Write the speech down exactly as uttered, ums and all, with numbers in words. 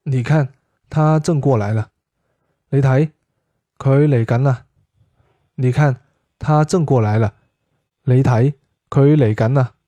你看，他正過來了。你睇，佢嚟緊啦。你看，他正過來了。你睇，佢嚟緊啦。